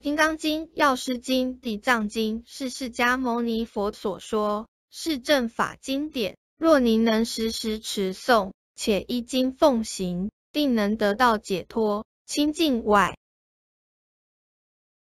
金刚经、药师经、地藏经是释迦牟尼佛所说，是正法经典。若你能时时持诵，且依经奉行，定能得到解脱、清净外。